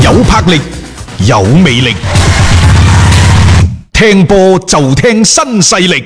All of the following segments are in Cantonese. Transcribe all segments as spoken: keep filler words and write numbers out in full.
有魄力，有魅力，聽波就聽新勢力。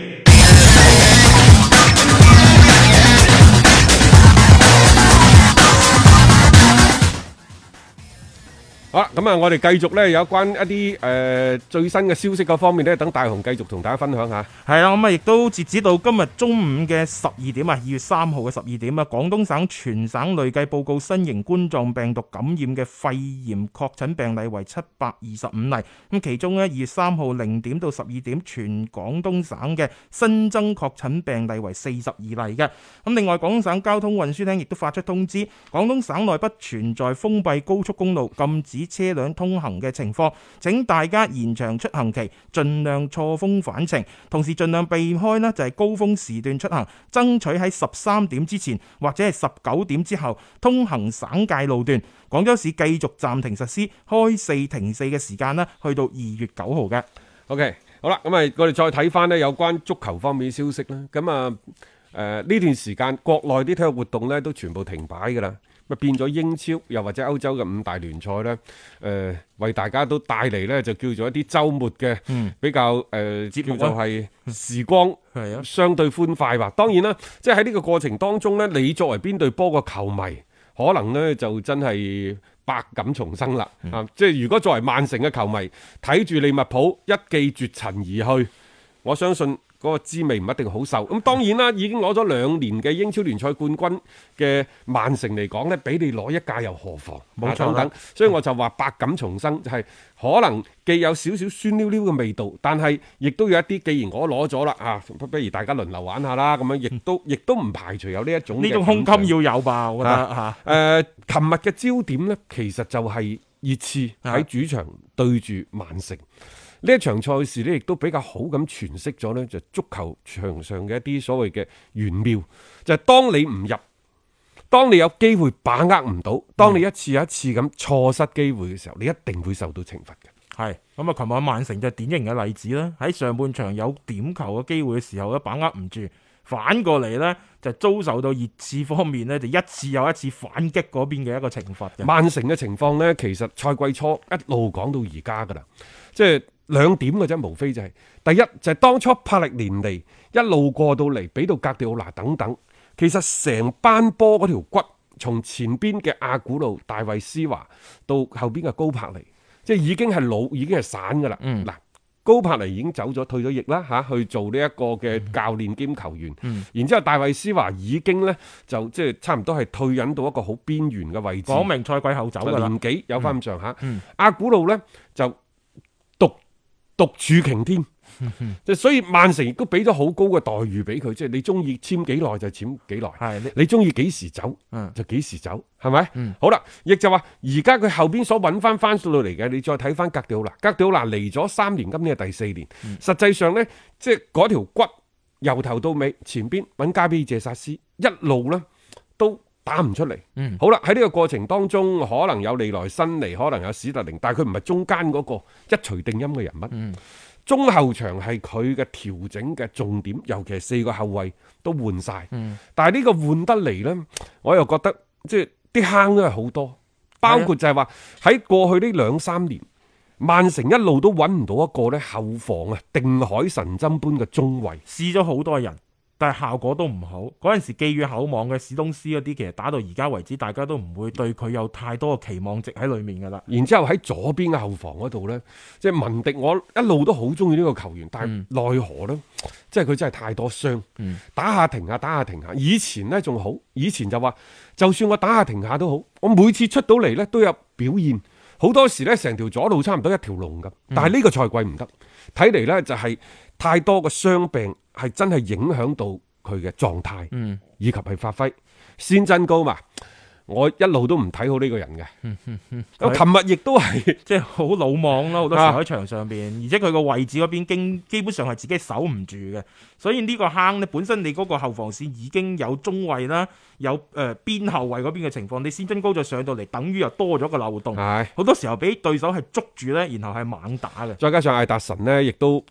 好啦，咁啊，我哋繼續咧有關一啲誒、呃、最新嘅消息嗰方面咧，等大雄繼續同大家分享下。 係啦，咁啊，亦都截止到今日中午嘅十二點啊，二月三號嘅十二點啊，廣東省全省累計報告新型冠狀病毒感染嘅肺炎確診病例為七百二十五例。咁其中咧，二月三號零點到十二點，全廣東省嘅新增確診病例為四十二例嘅。咁另外，廣東省交通運輸廳亦都發出通知，廣東省內不存在封閉高速公路禁止車輛通行嘅情況，請大家延長出行期，盡量錯峰返程，同時盡量避開呢就係高峰時段出行，爭取喺十三點之前或者係十九點之後通行省界路段。廣州市繼續暫停實施開四停四嘅時間啦，去到二月九號嘅。 OK， 好啦，咁啊，我哋再睇翻呢有關足球方面嘅消息啦。咁啊，誒、呃、呢段時間國內啲體育活動呢都全部停擺噶啦。咁變咗英超又或者歐洲嘅五大聯賽呢，誒、呃、為大家都帶嚟呢就叫做一啲週末嘅比較誒、嗯呃、叫做係時光係啊，相對歡快吧。當然啦，即係喺呢個過程當中呢，你作為邊隊波嘅球迷，可能呢就真係百感重生啦。嗯、啊，即係如果作為曼城嘅球迷，睇住利物浦一騎絕塵而去，我相信嗰個滋味唔一定好受，咁當然啦，已經攞咗兩年嘅英超聯賽冠軍嘅曼城嚟講呢，俾你攞一屆又何妨？冇錯等等，所以我就話百感重生，就係、是、可能既有少少酸溜溜嘅味道，但係亦都有一啲，既然我攞咗啦，啊，不如大家輪流玩下啦，咁樣亦都亦都唔排除有呢一種呢種胸襟要有吧？我覺得嚇。誒、啊，琴、呃、日嘅焦點呢，其實就係熱刺喺主場對住曼城。呢一場賽事咧，亦都比較好咁詮釋咗呢就足球場上嘅一啲所謂嘅玄妙，就係、是、當你唔入，當你有機會把握唔到，當你一次又一次咁錯失機會嘅時候，你一定會受到懲罰嘅。 係咁啊！琴日曼城就係典型嘅例子啦。喺上半場有點球嘅機會嘅時候咧，把握唔住，反過嚟呢，就遭受到熱刺方面呢，就一次又一次反擊嗰邊嘅一個懲罰嘅。 曼城嘅情況呢，其實賽季初一路講到而家噶啦，即係。兩點嘅啫，無非就係、是、第一就係、是、當初柏歷連尼一路過到嚟，俾到格迪奧拿等等，其實成班波嗰條骨，從前邊嘅阿古路、大衛斯華到後邊嘅高柏尼，即係已經係老，已經係散噶啦。嗯，嗱，高柏尼已經走咗，退咗役啦吓，去做呢一個嘅教練兼球員。嗯，然之後大衛斯華已經咧就即係差唔多係退隱到一個好邊緣嘅位置， 講明賽季後走噶啦， 年紀有翻咁上下。 嗯， 阿古路咧就獨。獨處擎天，即所以曼城亦都俾咗好高嘅待遇俾佢，即係你中意簽幾耐就簽幾耐，係你中意幾時走就幾時走，係咪？嗯、好啦，亦就話而家佢後邊所揾翻翻到嚟嘅，你再睇翻格迪奧拿，格迪奧拿嚟咗三年，今年係第四年，嗯、實際上呢，即係嗰條骨由頭到尾，前邊揾加比謝薩斯一路呢都打唔出嚟，嗯、好啦，喺呢個過程當中，可能有利來新尼，可能有史特靈，但係佢唔係中間嗰個一錘定音嘅人物。嗯、中後場係佢嘅調整嘅重點，尤其係四個後衛都換晒。嗯、但係呢個換得嚟呢，我又覺得即係啲坑都係好多，包括就係話喺過去呢兩三年，曼城一路都揾唔到一個咧後防啊定海神針般嘅中衛， 試咗好多人。但係效果都唔好，嗰陣時寄予厚望嘅史東斯嗰啲，其實打到而家為止，大家都唔會對佢有太多嘅期望值喺裏面噶啦。 然之後喺左邊嘅後防嗰度呢，即係文迪，我一路都好中意呢個球員，但係奈何呢？嗯、即係佢真係太多傷，嗯、打下停下，打下停下。以前呢仲好，以前就話就算我打下停下都好，我每次出到嚟呢都有表現。好多時呢，成條左路差唔多一條龍咁，但係呢個賽季唔得，睇嚟呢就係太多嘅傷病。係真係影響到佢嘅狀態，嗯、以及係發揮。先真高嘛，我一路都唔睇好呢個人嘅。咁琴日亦都係即係好魯莽咯，好多時喺場上邊，啊、而且佢個位置嗰邊經基本上係自己守唔住嘅。所以呢個坑咧，本身你嗰個後防線已經有中衛啦，有誒邊、呃、後衛嗰邊嘅情況，你先真高再上到嚟，等於又多咗個漏洞。係好多時候俾對手係捉住咧，然後係猛打嘅。 再加上艾達臣呢，亦都即係。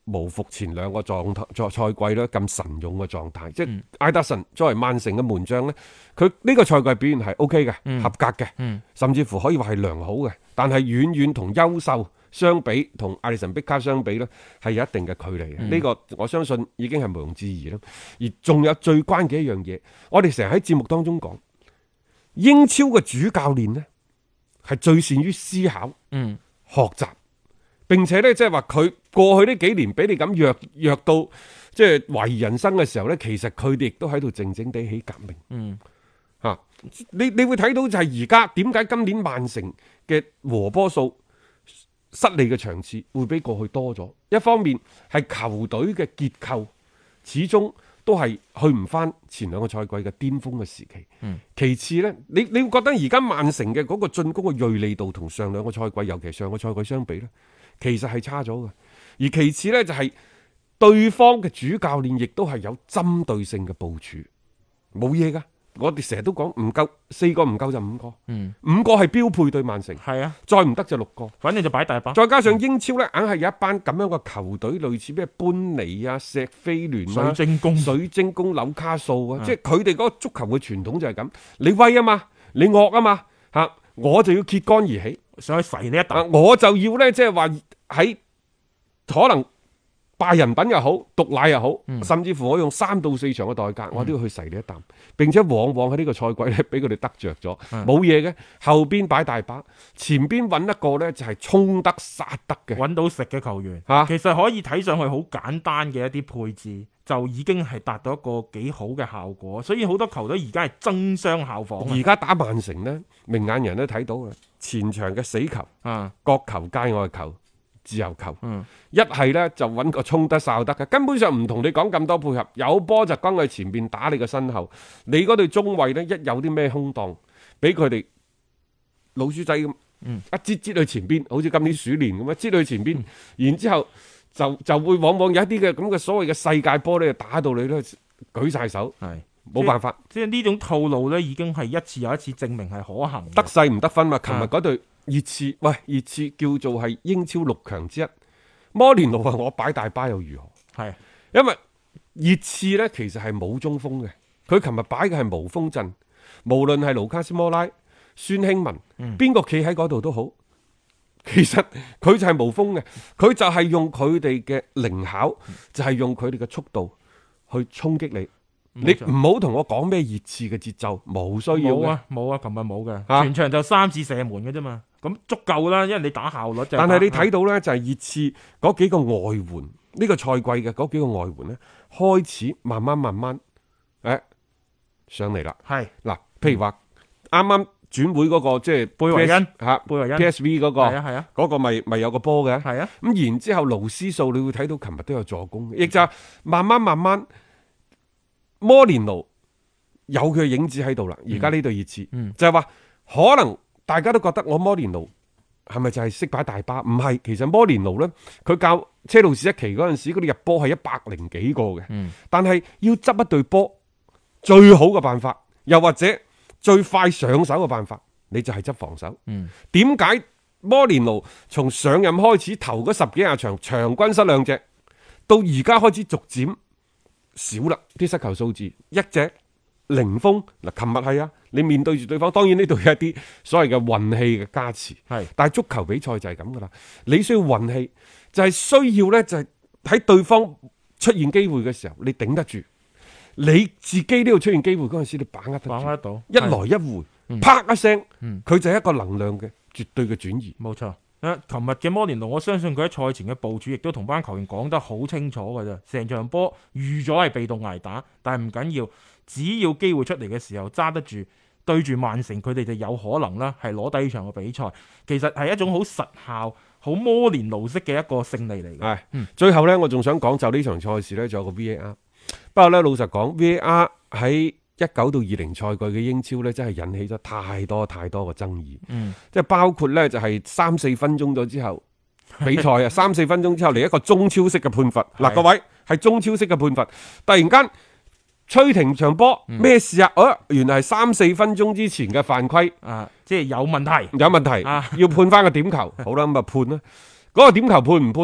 無復前兩個狀態賽季咧咁神勇嘅狀態。即係艾德臣作為曼城嘅門將呢，佢呢個賽季表現係 O K 嘅， 嗯、 合格嘅， 嗯、 甚至乎可以話係良好嘅。但係遠遠同優秀相比，同艾利臣碧卡相比呢，係有一定嘅距離嘅。呢、嗯、個我相信已經係毋庸置疑啦。而仲有最關鍵一樣嘢，我哋成日喺節目當中講，英超嘅主教練呢，係最善於思考、 嗯、 學習。並且咧，即係話佢過去呢幾年俾你咁弱弱到即係懷疑人生嘅時候咧，其實佢哋亦都喺度靜靜地起革命。 嗯， 吓、啊，你你會睇到就係而家點解今年曼城嘅和波數失利嘅場次會比過去多咗？一方面係球隊嘅結構始終都係去唔翻前兩個賽季嘅巔峰嘅時期。 嗯， 其次咧，你你會覺得而家曼城嘅嗰個進攻嘅銳利度同上兩個賽季，尤其上個賽季相比咧，其實係差咗嘅，而其次呢，就係對方嘅主教練亦都係有針對性嘅部署，冇嘢噶。我哋成日都講唔夠四個唔夠就五個， 嗯， 五個係標配對曼城， 係啊， 再唔得就六個， 反正就擺大把。 再加上英超呢，硬係有一班咁樣嘅球隊，類似咩班尼啊、石飛聯啊、 水晶宮、 水晶宮、紐卡素啊， 嗯、 即係佢哋嗰個足球嘅傳統就係咁，你威啊嘛，你惡啊嘛，吓我就要揭竿而起。 想去噬你一啖， 我就要咧，即係話喺可能敗人品又好，毒奶又好，嗯、甚至乎我用三到四場嘅代價，嗯、我都要去噬你一啖，並且往往喺呢個賽季咧，俾佢哋得着咗，冇嘢嘅，後邊擺大把，前邊揾一個咧就係衝得殺得嘅， 揾到食嘅球員， 啊、 其實可以睇上去好簡單嘅一啲配置，就已經係達到一個幾好嘅效果，所以好多球隊而家係爭相效仿。 而家打曼城呢，明眼人都睇到嘅，前場嘅死球， 啊， 角球、界外球、自由球， 嗯、 一係呢就揾個衝得哨得嘅，根本上唔同你講咁多配合，有波就轟去前邊打你個身後，你嗰隊中衛呢，一有啲咩空檔，俾佢哋老鼠仔咁， 嗯、 一擠擠去前邊，好似今年鼠年咁樣擠去前邊，嗯、然之後就就會往往有一啲嘅咁嘅所謂嘅世界波咧，打到你咧舉晒手，係冇辦法， 即係呢種套路咧，已經係一次又一次證明係可行， 得勢唔得分嘛。琴日嗰隊熱刺，喂，熱刺叫做係英超六強之一，摩連奴話我擺大巴又如何？係因為熱刺咧其實係冇中鋒嘅，佢琴日擺嘅係無鋒陣，無論係盧卡斯摩拉、孫興文，邊個企喺嗰度都好。其實佢就係無鋒嘅，佢就係用佢哋嘅靈巧，就係、是、用佢哋嘅速度去衝擊你。你唔好同我講咩熱刺嘅節奏，冇需要嘅。 冇啊，冇啊，琴日冇嘅，啊、全場就三次射門嘅啫嘛，咁足夠啦，因為你打效率就。但係你睇到咧，就係熱刺嗰幾個外援，呢、這個賽季嘅嗰幾個外援咧，開始慢慢慢慢誒、哎、上嚟啦。係嗱，譬如話啱啱。轉會嗰、那個即係貝維恩嚇，貝維恩 P S V 嗰、那個，係啊係啊，嗰個咪咪有個波嘅，係啊。咁然之後勞斯數，你會睇到琴日都有助攻，亦就係慢慢慢慢，摩連奴有佢嘅影子喺度啦。而家呢隊熱刺，嗯、就係話可能大家都覺得我摩連奴係咪就係識擺大巴？唔係，其實摩連奴咧，佢教車路士一期嗰陣時，嗰啲入波係一百零幾個嘅，嗯、但係要執一隊波，最好嘅辦法，又或者。最快上手嘅辦法，你就係執防守。點解、嗯、摩連奴從上任開始頭嗰十幾廿場場均失兩隻，到而家開始逐漸少啦啲失球數字，一隻零封嗱。琴日係啊，你面對住對方，當然呢度有一啲所謂嘅運氣嘅加持，係，但係足球比賽就係咁噶啦。你需要運氣，就係、是、需要咧，就係、是、喺對方出現機會嘅時候，你頂得住。你自己呢度出現機會嗰陣時，你把握得住，把握得到，一來一回，嗯、啪一聲，佢、嗯、就係一個能量嘅絕對嘅轉移。冇錯，誒，琴日嘅摩連奴，我相信佢喺賽前嘅部署亦都同班球員講得好清楚㗎啫。成場波預咗係被動挨打，但係唔緊要，只要機會出嚟嘅時候揸得住，對住曼城，佢哋就有可能啦，係攞低呢場嘅比賽。其實係一種好實效、好摩連奴式嘅一個勝利嚟嘅。係，嗯、最後呢，我仲想講就呢場賽事呢，仲有個 V A R。不過咧，老實講 ，V A R 喺一九到二零賽季嘅英超咧，真係引起咗太多太多嘅爭議。嗯，即係包括咧，就係三四分鐘咗之後比賽啊，三四分鐘之後嚟一個中超式嘅判罰。嗱，各位係中超式嘅判罰，突然間吹停場波，咩事啊？哦，原來係三四分鐘之前嘅犯規啊，即係有問題，有問題啊，要判翻個點球。好啦，咁啊判啦。嗰個點球判唔判呢？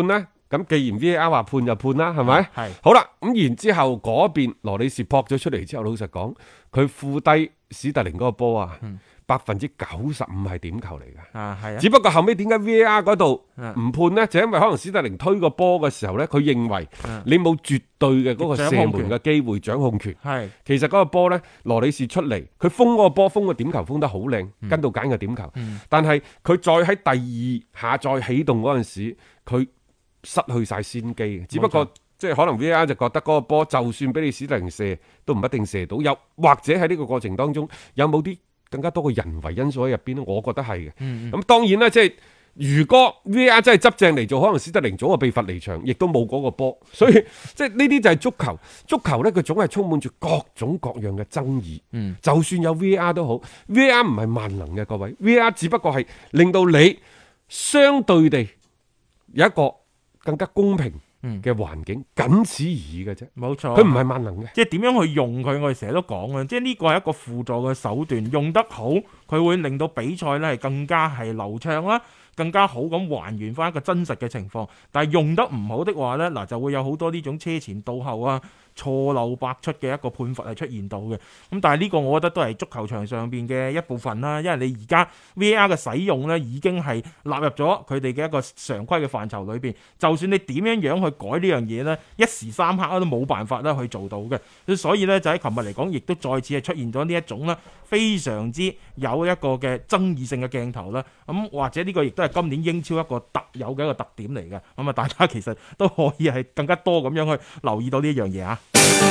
咁既然 V A R 話判就判啦，係咪？ 係好啦，咁然之後嗰邊羅里士撲咗出嚟之後，老實講，佢負低史特靈嗰個波啊，百分之九十五係點球嚟嘅。 啊，係啊。 只不過後尾點解 V A R 嗰度唔判呢？就因為可能史特靈推個波嘅時候呢，佢認為你冇絕對嘅嗰個射門嘅機會掌控權。 係其實嗰個波呢，羅里士出嚟，佢封嗰個波，封個點球封得好靚， 嗯跟到揀嘅點球。 嗯但係佢再喺第二下再起動嗰陣時，佢失去晒先機。只不過即係可能 V A R 就覺得嗰個波就算俾你史特靈射，都唔一定射到。又或者喺呢個過程當中，有冇啲更加多嘅人為因素喺入邊咧？我覺得係嘅。咁、 嗯嗯、當然啦，即係如果 V A R 真係執正嚟做，可能史特靈早就被罰離場，亦都冇嗰個波。所以即係呢啲就係足球。足球呢，佢總係充滿住各種各樣嘅爭議。 嗯、 就算有 V A R 都好，V A R 唔係萬能嘅，各位。V A R 只不過係令到你相對地有一個更加公平嘅環境，僅此而已嘅啫。 冇錯， 佢唔係萬能嘅。 即係點樣去用佢，我哋成日都講啊，即係呢個係一個輔助嘅手段，用得好，佢會令到比賽咧係更加係流暢啦，更加好咁還原翻一個真實嘅情況。但係用得唔好的話呢，嗱就會有好多呢種車前到後啊、錯漏百出嘅一個判罰係出現到嘅。咁但係呢個我覺得都係足球場上邊嘅一部分啦，因為你而家 V A R 嘅使用呢已經係納入咗佢哋嘅一個常規嘅範疇裏邊。就算你點樣樣去改呢樣嘢呢，一時三刻都冇辦法啦去做到嘅。所以呢，就喺琴日嚟講，亦都再次係出現咗呢一種啦，非常之有一個嘅爭議性嘅鏡頭啦。咁或者呢個亦都係今年英超一個特有嘅一個特點嚟嘅。咁啊，大家其實都可以係更加多咁樣去留意到呢一樣嘢啊。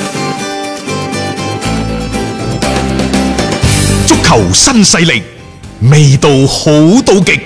足球新勢力，味道好到極。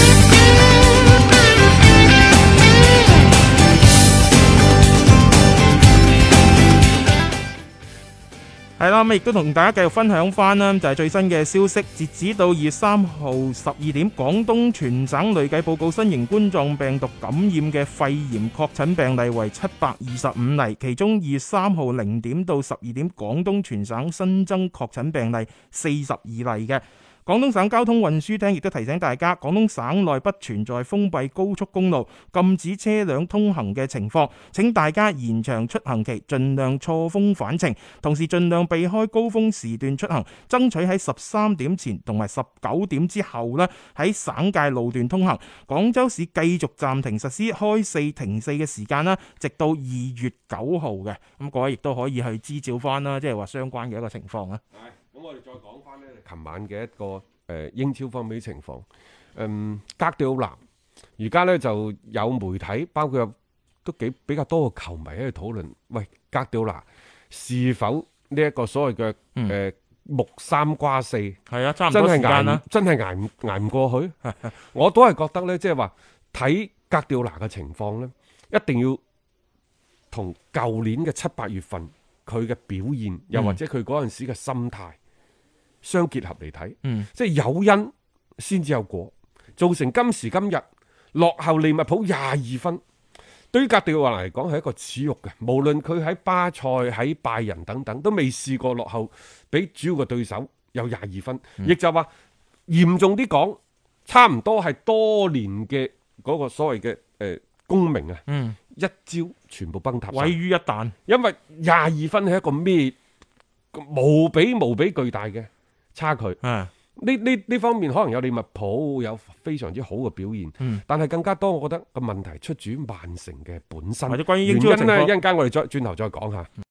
係啦，咁亦都同大家繼續分享翻啦，就係最新嘅消息，截止到二月三號十二點，廣東全省累計報告新型冠狀病毒感染嘅肺炎確診病例為七百二十五例，其中二月三號零點到十二點，廣東全省新增確診病例四十二例嘅。廣東省交通運輸廳亦都提醒大家，廣東省內不存在封閉高速公路禁止車輛通行嘅情況，請大家延長出行期，盡量錯峰返程，同時盡量避開高峰時段出行，爭取喺十三點前同埋十九點之後呢喺省界路段通行。廣州市繼續暫停實施開四停四嘅時間啦，直到二月九號嘅。咁各位亦都可以去支照翻啦，即係話相關嘅一個情況啊。 咁我哋再講翻呢，琴晚嘅一個誒、呃、英超方面嘅情況。嗯，哥迪奧拿而家呢就有媒體，包括有都幾比較多嘅球迷喺度討論，喂，哥迪奧拿是否呢一個所謂嘅誒、呃、木三瓜四？係啊，差唔多時間啦， 真係捱唔捱唔過去？我都係覺得呢，即係話睇哥迪奧拿嘅情況呢，一定要同舊年嘅七八月份佢嘅表現，又或者佢嗰陣時嘅心態。相結合嚟睇，嗯、即係有因先至有果，造成今時今日落後利物浦廿二分，對於哥迪奧拿嚟講係一個恥辱嘅。無論佢喺巴塞、喺拜仁等等，都未試過落後比主要嘅對手有廿二分，亦、嗯、就話嚴重啲講，差唔多係多年嘅嗰個所謂嘅誒功名啊，嗯、一朝全部崩塌， 毀於一旦。因為廿二分係一個咩無比無比巨大嘅差距，呢呢呢方面可能有利物浦有非常之好嘅表現，嗯、但係更加多，我覺得個問題出自於曼城嘅本身。 或者關於英超嘅情況， 原因咧，一陣間我哋再轉頭再講下。